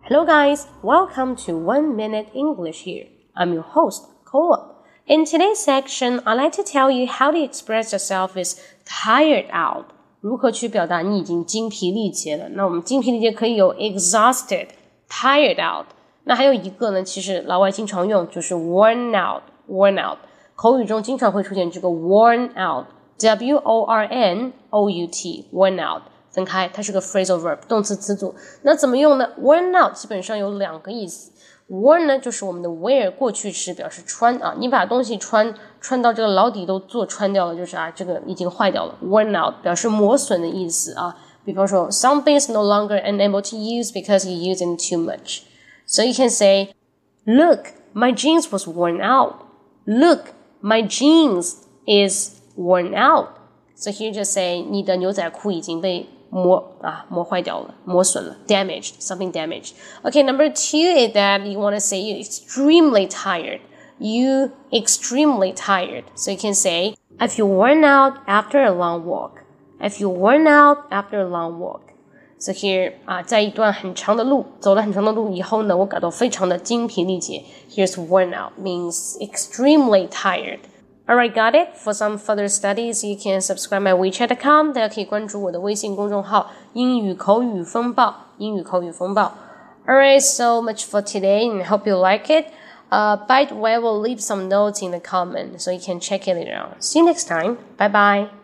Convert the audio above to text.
Hello guys, welcome to 1 Minute English here. I'm your host, Cola. In today's section, I'd like to tell you how to express yourself as tired out. 如何去表达你已经精疲力竭了。那我们精疲力竭可以有 exhausted, tired out. 那还有一个呢，其实老外经常用，就是 worn out. 口语中经常会出现这个 worn out, W-O-R-N-O-U-T, worn out.分开，它是个 phrasal verb 动词词组。那怎么用呢？ worn out 基本上有两个意思。worn 呢就是我们的 wear 过去时表示穿啊，你把东西穿到这个老底都做穿掉了，就是这个已经坏掉了。worn out 表示磨损的意思啊。比方说 something is no longer unable to use because you use it too much. So you can say, look, my jeans was worn out. Look, my jeans is worn out. So here just say 你的牛仔裤已经被磨坏掉了，磨损了 damaged, something damaged. Okay, number 2 is that you want to say you're extremely tired. You extremely tired. So you can say, I feel worn out after a long walk. I feel worn out after a long walk. So here, 在一段很长的路，走了很长的路以后呢，我感到非常的精疲力竭。Here's worn out means extremely tired.Alright, got it? For some further studies, you can subscribe my WeChat account. 大家可以关注我的微信公众号英语口语风暴。Alright, so much for today, and I hope you like it. By the way, I will leave some notes in the comment so you can check it later on. See you next time. Bye bye.